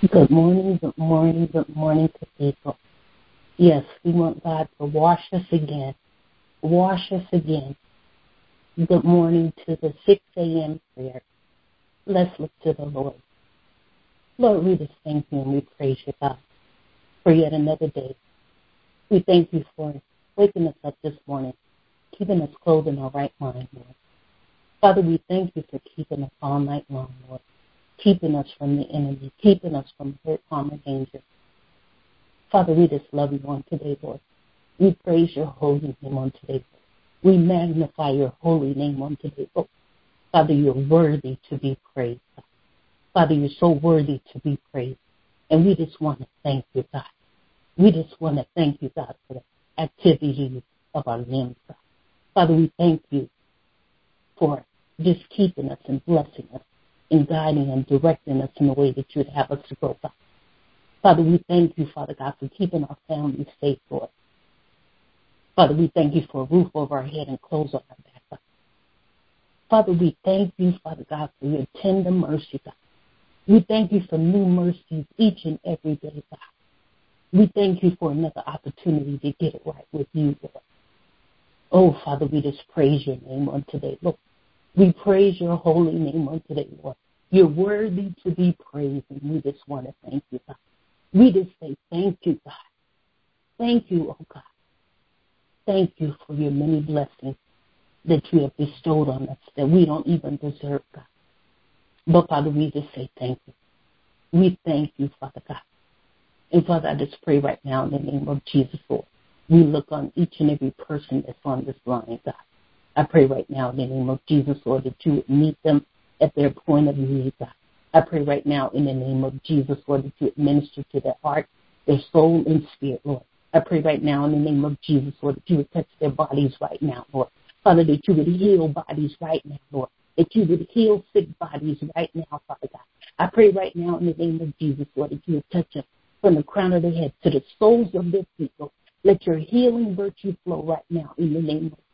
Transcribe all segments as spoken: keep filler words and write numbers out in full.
Good morning, good morning, good morning to people. Yes, we want God to wash us again. Wash us again. Good morning to the six a.m. prayer. Let's look to the Lord. Lord, we just thank you and we praise you, God, for yet another day. We thank you for waking us up this morning, keeping us clothed in our right mind, Lord. Father, we thank you for keeping us all night long, Lord, keeping us from the enemy, keeping us from hurt, harm, and danger. Father, we just love you on today, Lord. We praise your holy name on today, Lord. We magnify your holy name on today, Lord. Father, you're worthy to be praised. Father, you're so worthy to be praised. And we just want to thank you, God. We just want to thank you, God, for the activities of our limbs, God. Father, we thank you for just keeping us and blessing us and guiding and directing us in the way that you'd have us to go, God. Father, we thank you, Father God, for keeping our families safe, Lord. Father, we thank you for a roof over our head and clothes on our back, God. Father, we thank you, Father God, for your tender mercy, God. We thank you for new mercies each and every day, God. We thank you for another opportunity to get it right with you, Lord. Oh, Father, we just praise your name on today, Lord. We praise your holy name on today, Lord. You're worthy to be praised, and we just want to thank you, God. We just say thank you, God. Thank you, oh God. Thank you for your many blessings that you have bestowed on us that we don't even deserve, God. But, Father, we just say thank you. We thank you, Father God. And, Father, I just pray right now in the name of Jesus, Lord. We look on each and every person that's on this line, God. I pray right now in the name of Jesus, Lord, that you would meet them at their point of need, God. I pray right now in the name of Jesus, Lord, that you would minister to their heart, their soul, and spirit, Lord. I pray right now in the name of Jesus, Lord, that you would touch their bodies right now, Lord. Father, that you would heal bodies right now, Lord. That you would heal sick bodies right now, Father God. I pray right now in the name of Jesus, Lord, that you would touch them from the crown of their head to the soles of their feet, Lord. Let your healing virtue flow right now in the name of Jesus.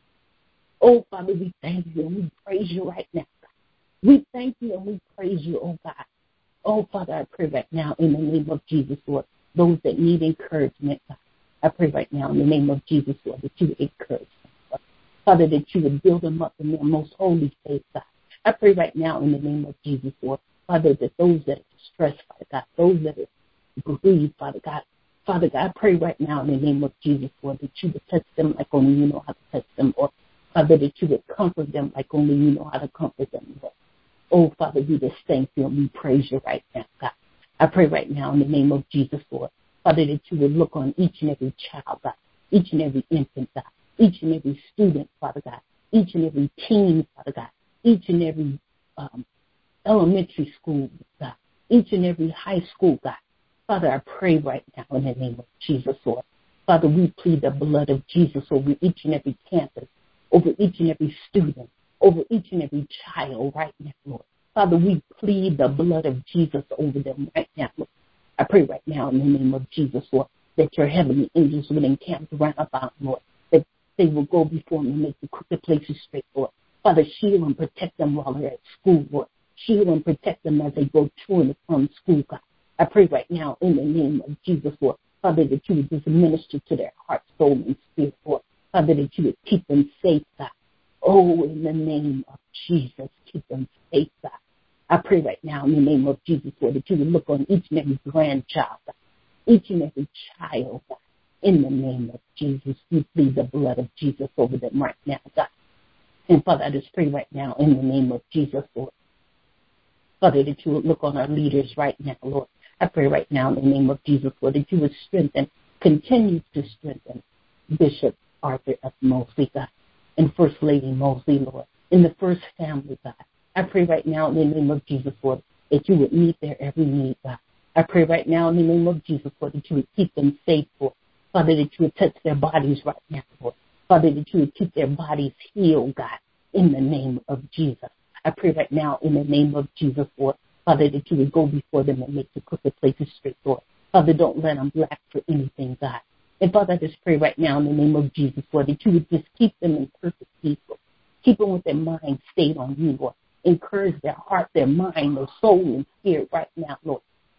Oh, Father, we thank you and we praise you right now, God. We thank you and we praise you, oh God. Oh, Father, I pray right now in the name of Jesus, Lord, those that need encouragement, God. I pray right now in the name of Jesus, Lord, that you would encourage them, Lord. Father, that you would build them up in their most holy faith, God. I pray right now in the name of Jesus, Lord, Father, that those that are stressed, Father God, those that are bereaved, Father God, Father God, I pray right now in the name of Jesus, Lord, that you would touch them like only you know how to touch them, Lord. Father, that you would comfort them like only you know how to comfort them, Lord. Oh, Father, we just thank you and we praise you right now, God. I pray right now in the name of Jesus, Lord, Father, that you would look on each and every child, God, each and every infant, God, each and every student, Father God, each and every teen, Father God, each and every um, elementary school, God, each and every high school, God. Father, I pray right now in the name of Jesus, Lord. Father, we plead the blood of Jesus over each and every campus, over each and every student, over each and every child right now, Lord. Father, we plead the blood of Jesus over them right now, Lord. I pray right now in the name of Jesus, Lord, that your heavenly angels will encamp around about, Lord, that they will go before them and make the crooked places straight, Lord. Father, shield and protect them while they're at school, Lord. Shield and protect them as they go to and from school, God. I pray right now in the name of Jesus, Lord, Father, that you would just minister to their heart, soul, and spirit, Lord. Father, that you would keep them safe, God. Oh, in the name of Jesus, keep them safe, God. I pray right now in the name of Jesus, Lord, that you would look on each and every grandchild, God, each and every child, God. In the name of Jesus, we plead the blood of Jesus over them right now, God. And Father, I just pray right now in the name of Jesus, Lord, Father, that you would look on our leaders right now, Lord. I pray right now in the name of Jesus, Lord, that you would strengthen, continue to strengthen Bishop Arthur F. Mosley, God, and First Lady Mosley, Lord, in the First Family, God. I pray right now in the name of Jesus, Lord, that you would meet their every need, God. I pray right now in the name of Jesus, Lord, that you would keep them safe, Lord. Father, that you would touch their bodies right now, Lord. Father, that you would keep their bodies healed, God, in the name of Jesus. I pray right now in the name of Jesus, Lord, Father, that you would go before them and make the crooked places straight, Lord. Father, don't let them lack for anything, God. And Father, I just pray right now in the name of Jesus, Lord, that you would just keep them in perfect peace, Lord. Keep them with their mind stayed on you, Lord. Encourage their heart, their mind, their soul, and spirit right now, Lord.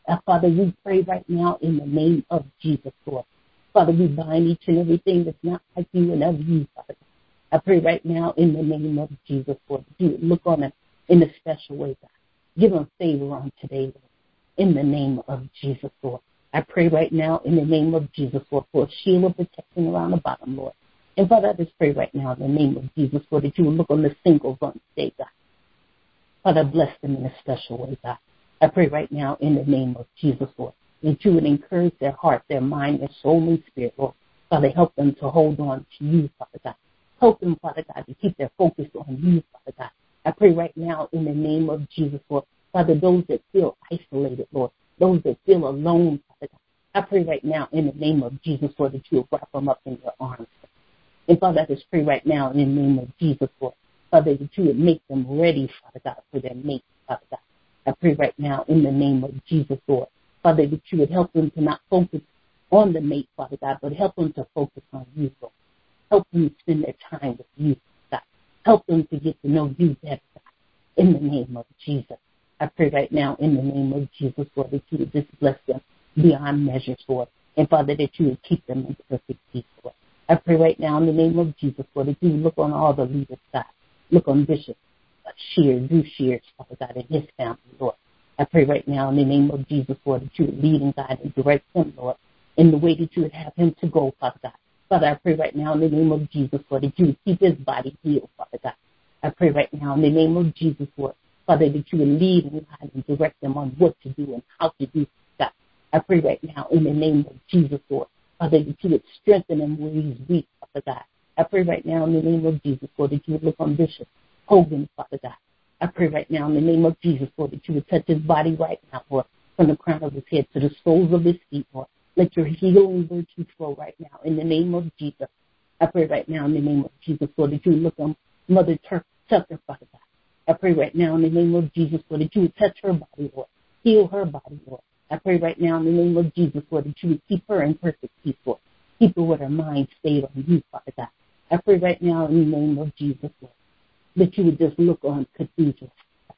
Uh, Father, we pray right now in the name of Jesus, Lord. Father, we bind each and everything that's not like you and of you, Father. I pray right now in the name of Jesus, Lord, that you would look on them in a special way, God. Give them favor on today, Lord, in the name of Jesus, Lord. I pray right now in the name of Jesus, Lord, for a shield of protection around the bottom, Lord. And Father, I just pray right now in the name of Jesus, Lord, that you would look on the singles on today, God. Father, bless them in a special way, God. I pray right now in the name of Jesus, Lord, that you would encourage their heart, their mind, their soul, and spirit, Lord. Father, help them to hold on to you, Father God. Help them, Father God, to keep their focus on you, Father God. I pray right now in the name of Jesus, Lord. Father, those that feel isolated, Lord, those that feel alone, Father God. I pray right now in the name of Jesus, Lord, that you will wrap them up in your arms. And Father, I just pray right now in the name of Jesus, Lord, Father, that you would make them ready, Father God, for their mate, Father God. I pray right now in the name of Jesus, Lord, Father, that you would help them to not focus on the mate, Father God, but help them to focus on you, Lord. Help them to spend their time with you, God. Help them to get to know you better, God, in the name of Jesus. I pray right now in the name of Jesus, Lord, that you would just bless them beyond measures, Lord. And Father, that you would keep them in perfect peace, Lord. I pray right now in the name of Jesus, Lord, that you would look on all the leaders, God. Look on Bishop Shears, Drew Shears, Father God, and his family, Lord. I pray right now in the name of Jesus, Lord, that you would lead and guide and direct him, Lord, in the way that you would have him to go, Father God. Father, I pray right now in the name of Jesus, Lord, that you would keep his body healed, Father God. I pray right now in the name of Jesus, Lord, Father, that you would lead and guide and direct them on what to do and how to do, God. I pray right now in the name of Jesus, Lord, Father, that you would strengthen him where he's weak, Father God. I pray right now in the name of Jesus, Lord, that you would look on Bishop Hogan, Father God. I pray right now in the name of Jesus, Lord, that you would touch his body right now, Lord, from the crown of his head to the soles of his feet, Lord. Let your healing virtue flow right now in the name of Jesus. I pray right now in the name of Jesus, Lord, that you would look on Mother Tucker, Father God. I pray right now in the name of Jesus, Lord, that you would touch her body, Lord. Heal her body, Lord. I pray right now in the name of Jesus, Lord, that you would keep her in perfect peace, Lord. Keep her with her mind stayed on you, Father God. I pray right now in the name of Jesus, Lord, that you would just look on cathedrals.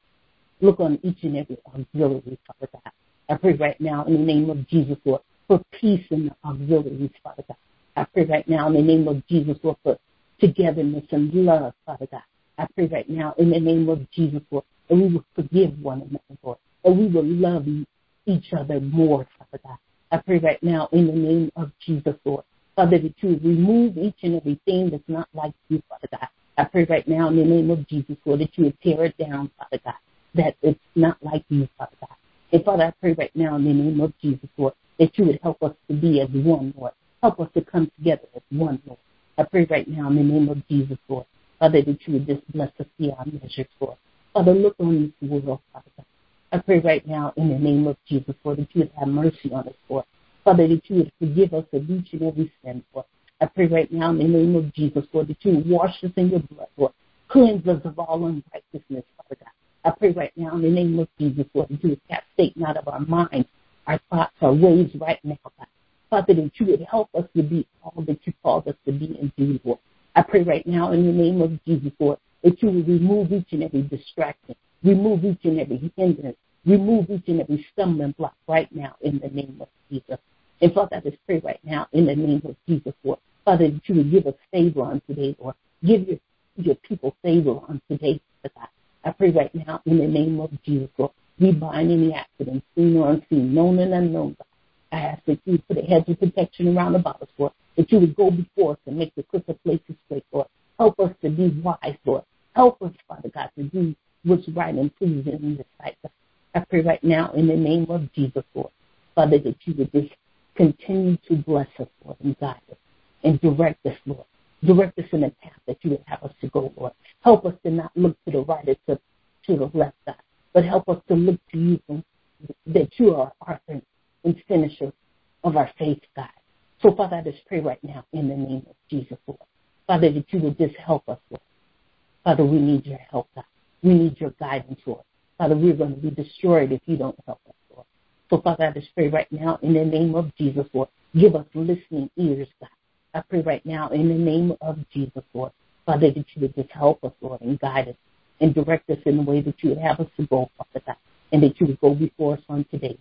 Look on each and every auxiliary, Father God. I pray right now in the name of Jesus, Lord, for peace in the auxiliaries, Father God. I pray right now in the name of Jesus, Lord, for togetherness and love, Father God. I pray right now in the name of Jesus, Lord, that we will forgive one another, Lord, that we will love each other more, Father God. I pray right now in the name of Jesus, Lord, Father, that you would remove each and everything that's not like you, Father God. I pray right now in the name of Jesus, Lord, that you would tear it down, Father God, that it's not like you, Father God. And Father, I pray right now in the name of Jesus, Lord, that you would help us to be as one, Lord. Help us to come together as one, Lord. I pray right now in the name of Jesus, Lord, Father, that you would just bless us beyond measures, Lord. Father, look on this world, Father God. I pray right now in the name of Jesus, Lord, that you would have mercy on us, Lord. Father, that you would forgive us of each and every sin, Lord. I pray right now in the name of Jesus, Lord, that you would wash us in your blood, Lord. Cleanse us of all unrighteousness, Father God. I pray right now in the name of Jesus, Lord, that you would cast Satan out of our minds, our thoughts, our ways right now, God. Father, that you would help us to be all that you called us to be and do, Lord. I pray right now in the name of Jesus, Lord, that you would remove each and every distraction, remove each and every hindrance, remove each and every stumbling block right now in the name of Jesus. And Father, I just pray right now in the name of Jesus, Lord, Father, that you would give us favor on today, Lord. Give your, your people favor on today, Father God. I pray right now in the name of Jesus, Lord, we bind any accidents, seen or unseen, known and unknown, God. I ask that you put a hedge of protection around about us, Lord, that you would go before us and make the crooked places straight, Lord. Help us to be wise, Lord. Help us, Father God, to do what's right and pleasing in your sight, God. I pray right now in the name of Jesus, Lord, Father, that you would just continue to bless us, Lord, and guide us and direct us, Lord. Direct us in the path that you would have us to go, Lord. Help us to not look to the right or to, to the left, God, but help us to look to you, and that you are our author and finisher of our faith, God. So, Father, I just pray right now in the name of Jesus, Lord. Father, that you would just help us, Lord. Father, we need your help, God. We need your guidance, Lord. Father, we're going to be destroyed if you don't help us, Lord. So, Father, I just pray right now in the name of Jesus, Lord. Give us listening ears, God. I pray right now in the name of Jesus, Lord. Father, that you would just help us, Lord, and guide us and direct us in the way that you would have us to go, Father God, and that you would go before us on today, Lord.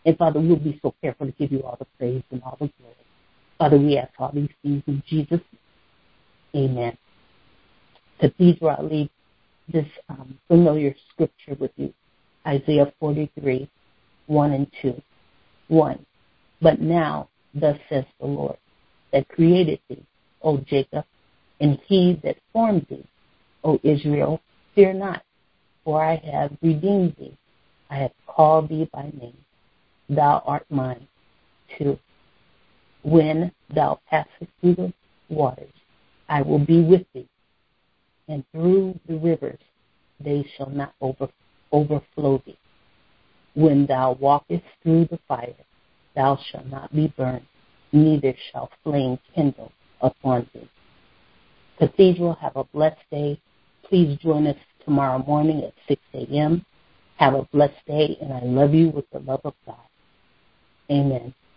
And, Father, we'll be so careful to give you all the praise and all the glory. Father, we ask all these things in Jesus' name. Amen. Cathedral, I leave this um, familiar scripture with you. Isaiah forty-three, one and two. one. But now, thus says the Lord, that created thee, O Jacob, and he that formed thee, O Israel, fear not, for I have redeemed thee. I have called thee by name. Thou art mine. two. When thou passest through the waters, I will be with thee, and through the rivers they shall not over, overflow thee. When thou walkest through the fire, thou shalt not be burned, neither shall flame kindle upon thee. Cathedral, have a blessed day. Please join us tomorrow morning at six a.m. Have a blessed day, and I love you with the love of God. Amen.